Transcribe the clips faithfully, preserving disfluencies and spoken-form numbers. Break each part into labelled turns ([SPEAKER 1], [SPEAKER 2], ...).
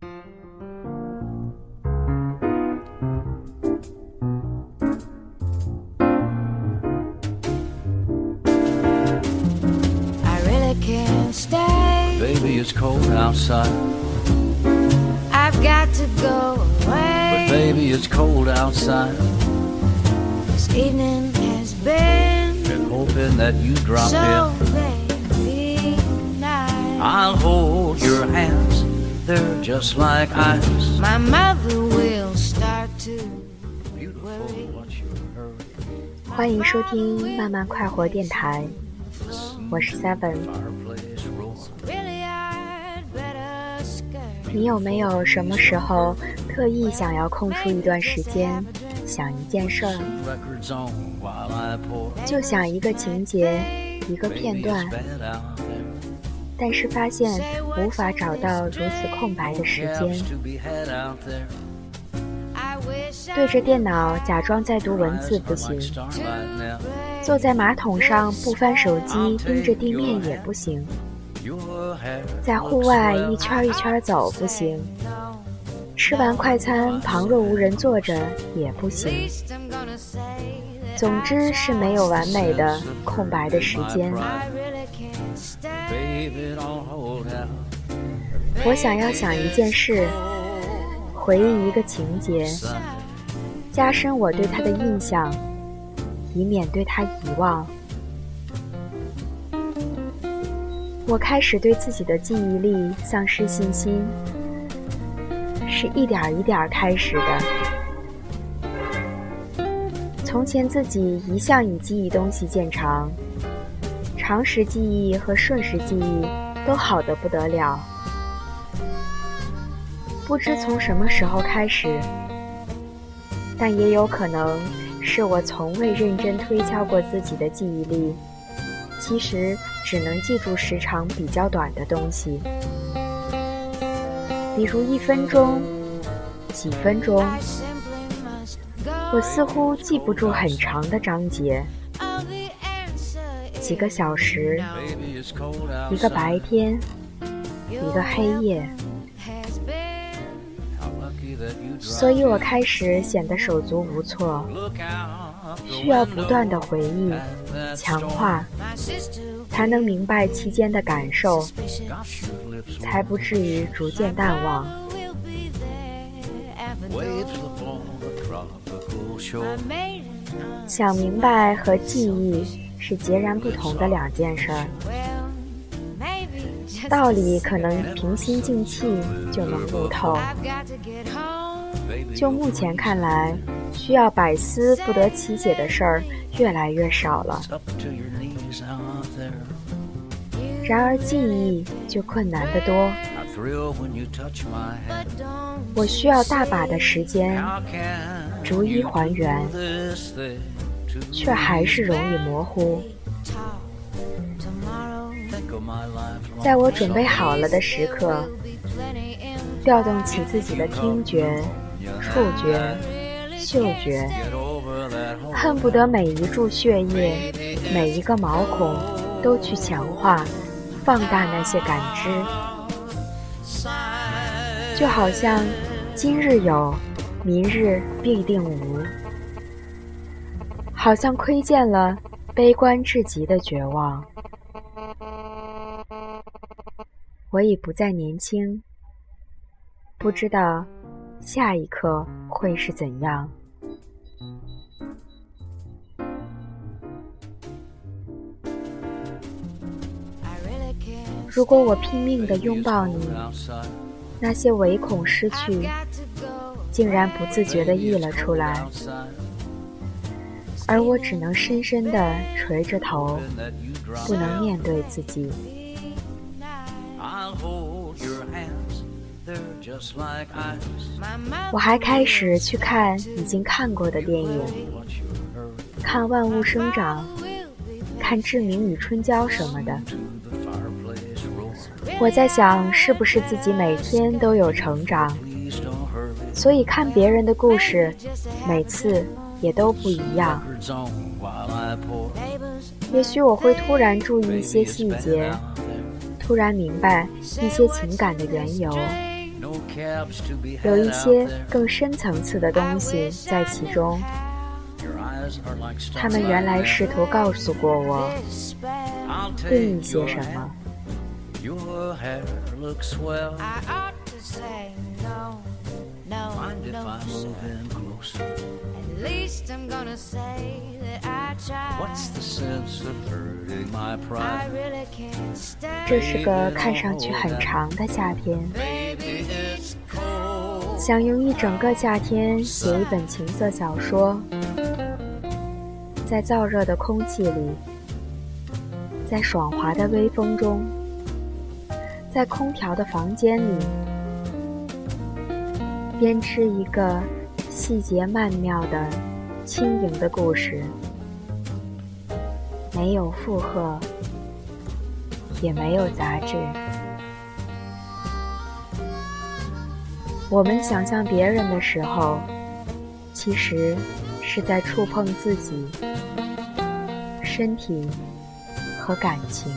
[SPEAKER 1] Baby, it's cold outside.
[SPEAKER 2] I've got to go away.
[SPEAKER 1] But baby, it's cold outside.
[SPEAKER 2] This evening has been
[SPEAKER 1] Been hoping that you drop
[SPEAKER 2] so
[SPEAKER 1] in.
[SPEAKER 2] very nice.
[SPEAKER 1] I'll hold your hands, they're just like ice.
[SPEAKER 2] My mother will start to
[SPEAKER 1] Beautiful, what's your hurry?
[SPEAKER 3] 欢迎收听慢慢快活电台，我是 Seven。
[SPEAKER 1] Fireplace roar.
[SPEAKER 2] really I'd better skirt.
[SPEAKER 3] 你有没有什么时候特意想要空出一段时间，想一件事儿，
[SPEAKER 1] Records on while I pour.
[SPEAKER 3] 就想一个情节，一个片
[SPEAKER 1] Baby,
[SPEAKER 3] 段
[SPEAKER 1] it's，bad out there.
[SPEAKER 3] 但是发现无法找到如此空白的时
[SPEAKER 1] No
[SPEAKER 3] 间
[SPEAKER 1] cabs，to be had out there.
[SPEAKER 2] I wish
[SPEAKER 3] 对着电脑假装在读文字不
[SPEAKER 1] Eyes are
[SPEAKER 3] 行，
[SPEAKER 1] like starlight now.
[SPEAKER 3] 坐在马桶上不翻手机盯着地面也不行，
[SPEAKER 1] Your hair
[SPEAKER 3] 在户
[SPEAKER 1] looks
[SPEAKER 3] 外
[SPEAKER 1] swell.
[SPEAKER 3] 一圈一圈走不行，吃完快餐旁若无人坐着也不行，
[SPEAKER 2] least I'm gonna say that
[SPEAKER 3] 总之是没有完美的空白的时间。
[SPEAKER 2] I really can't stand.
[SPEAKER 1] Baby, don't hold out.
[SPEAKER 3] 我想要想一件事，回忆一个情节，加深我对他的印象，以免对他遗忘。我开始对自己的记忆力丧失信心，是一点一点开始的。从前自己一向以记忆东西见长，长时记忆和瞬时记忆都好得不得了。不知从什么时候开始，但也有可能是我从未认真推敲过自己的记忆力，其实只能记住时长比较短的东西，比如一分钟、几分钟。
[SPEAKER 2] I simply must go.
[SPEAKER 3] 我似乎记不住很长的章节，
[SPEAKER 2] Oh, the answer
[SPEAKER 3] 几个小时，
[SPEAKER 1] Baby, it's cold outside.
[SPEAKER 3] 一个白天，一个黑夜，
[SPEAKER 2] has been.
[SPEAKER 1] How lucky that you
[SPEAKER 3] 所
[SPEAKER 1] dropped
[SPEAKER 3] 以我开始显得手足无措，
[SPEAKER 1] in. Look out the
[SPEAKER 3] 需要不断的
[SPEAKER 1] window
[SPEAKER 3] 回忆、
[SPEAKER 1] at that
[SPEAKER 3] 强
[SPEAKER 1] storm.
[SPEAKER 3] 化，
[SPEAKER 2] My sister
[SPEAKER 3] 才能明白其间的感受，
[SPEAKER 2] suspicious.
[SPEAKER 1] Gosh, your lips
[SPEAKER 3] 才
[SPEAKER 1] were
[SPEAKER 3] 不至于逐渐淡忘。
[SPEAKER 2] We'll be there at the
[SPEAKER 1] waves
[SPEAKER 2] door.
[SPEAKER 1] upon the tropical shore.
[SPEAKER 2] My maiden
[SPEAKER 3] 想明白和记忆是截然不同的两件事儿，
[SPEAKER 2] well, maybe just
[SPEAKER 3] 道理可能平心静气就能悟透，
[SPEAKER 2] I've got to get home.
[SPEAKER 1] Baby,
[SPEAKER 3] 就目前看来，需要百思不得其解的事儿越来越少了。
[SPEAKER 1] up to your knees out there.
[SPEAKER 3] 然而记忆就困难得多，
[SPEAKER 1] I thrill when you touch my hand.
[SPEAKER 2] Don't
[SPEAKER 3] 我需要大把的时间，
[SPEAKER 1] How can
[SPEAKER 3] 逐一
[SPEAKER 1] you
[SPEAKER 3] 还原，
[SPEAKER 1] do this thing to
[SPEAKER 3] 却还是容易模糊。
[SPEAKER 2] talk tomorrow.
[SPEAKER 1] think of my lifelong
[SPEAKER 3] 在我准备好了的时刻，
[SPEAKER 2] Be plenty in
[SPEAKER 3] 调动起自己的听觉、触觉、嗅觉，
[SPEAKER 1] Get over that home.
[SPEAKER 3] 恨不得每一处血液、每一个毛孔都去强化、放大那些感知，就好像今日有，明日必定无，好像窥见了悲观至极的绝望。我已不再年轻，不知道下一刻会是怎样。如果我拼命地拥抱你，
[SPEAKER 1] outside.
[SPEAKER 3] 那些唯恐失去，竟然不自觉地溢了出来，
[SPEAKER 1] Outside.
[SPEAKER 3] 而我只能深深地垂着头，
[SPEAKER 1] That you drop
[SPEAKER 3] 不能面对自己。
[SPEAKER 1] I'll hold your hands. They're just like ice.
[SPEAKER 3] 我还开始去看已经看过的电影，
[SPEAKER 1] What's your hurry?
[SPEAKER 3] 看《万物生长》，看《志明与春娇》什么的。
[SPEAKER 1] To the fireplace roar.
[SPEAKER 3] 我在想，是不是自己每天都有成长，
[SPEAKER 1] Please don't hurry.
[SPEAKER 3] 所以看别人的故事，每次也都不一样。
[SPEAKER 1] Records on while I pour.
[SPEAKER 3] 也许我会突然注意一些细节，突然明白一些情感的缘由。
[SPEAKER 1] No cabs to be
[SPEAKER 3] 有
[SPEAKER 1] had
[SPEAKER 3] 一
[SPEAKER 1] out
[SPEAKER 3] 些
[SPEAKER 1] there.
[SPEAKER 3] 更深层次的东西在其中，
[SPEAKER 1] Your eyes are like
[SPEAKER 3] 他们原来试图告诉过我
[SPEAKER 1] I'll
[SPEAKER 3] 另一
[SPEAKER 1] take
[SPEAKER 3] 些
[SPEAKER 1] your
[SPEAKER 3] 什
[SPEAKER 1] hand.
[SPEAKER 3] 么。
[SPEAKER 1] Your hair looks swell.
[SPEAKER 2] I ought to say no, no,
[SPEAKER 1] Mind if
[SPEAKER 2] no,
[SPEAKER 1] I
[SPEAKER 2] sir.
[SPEAKER 1] move in closer?
[SPEAKER 2] At least I'm gonna say that I tried.
[SPEAKER 1] What's the sense of hurting my
[SPEAKER 2] I
[SPEAKER 1] pride?
[SPEAKER 2] really can't stand.
[SPEAKER 3] 这是个看上去很长的夏天，
[SPEAKER 1] Baby, it's cold.
[SPEAKER 3] 想用一整个夏天写一本情色小说，在燥热的空气里，在爽滑的微风中，在空调的房间里，编织一个细节曼妙的轻盈的故事，没有负荷，也没有杂质。我们想象别人的时候，其实是在触碰自己身体和感情。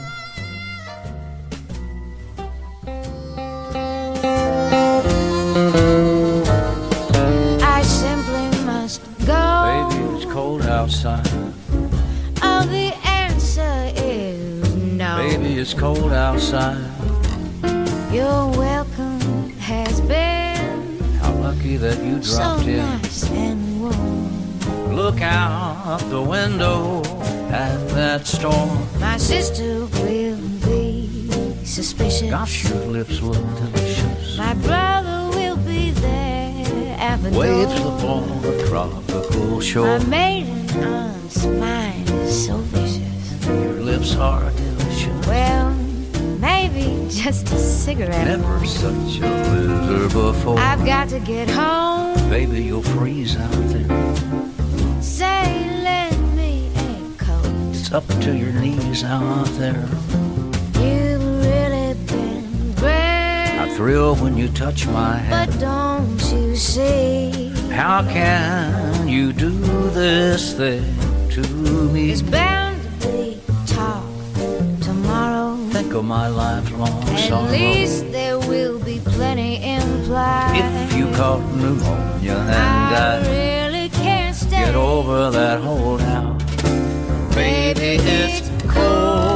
[SPEAKER 2] I simply must go.
[SPEAKER 1] Baby, it's cold outside.
[SPEAKER 2] Oh, the answer is no.
[SPEAKER 1] Baby, it's cold outside.
[SPEAKER 2] Your welcome has been
[SPEAKER 1] How lucky that you
[SPEAKER 2] so
[SPEAKER 1] dropped in.
[SPEAKER 2] nice and warm.
[SPEAKER 1] Look out the window at that storm.
[SPEAKER 2] My sister will be suspicious.
[SPEAKER 1] Gosh, your lips look delicious.
[SPEAKER 2] My brother will be there at the
[SPEAKER 1] Waves
[SPEAKER 2] door.
[SPEAKER 1] upon the tropical
[SPEAKER 2] My
[SPEAKER 1] shore.
[SPEAKER 2] maiden aunt's mind is so vicious.
[SPEAKER 1] Your lips are delicious.
[SPEAKER 2] Well, maybe just a cigarette.
[SPEAKER 1] Never such a blizzard before.
[SPEAKER 2] I've got to get home.
[SPEAKER 1] Baby, you'll freeze out there.
[SPEAKER 2] Say, lend me a coat.
[SPEAKER 1] It's up to your knees out there.
[SPEAKER 2] You've really been great.
[SPEAKER 1] I thrill when you touch my
[SPEAKER 2] But
[SPEAKER 1] hand.
[SPEAKER 2] don't you see?
[SPEAKER 1] How can you do this thing to me?
[SPEAKER 2] There's bound to be talk tomorrow.
[SPEAKER 1] Think of my lifelong
[SPEAKER 2] At
[SPEAKER 1] sorrow.
[SPEAKER 2] least there will be plenty implied.
[SPEAKER 1] If you caught pneumonia and
[SPEAKER 2] I
[SPEAKER 1] I
[SPEAKER 2] really can't stay.
[SPEAKER 1] get over that holdout, baby, it's cold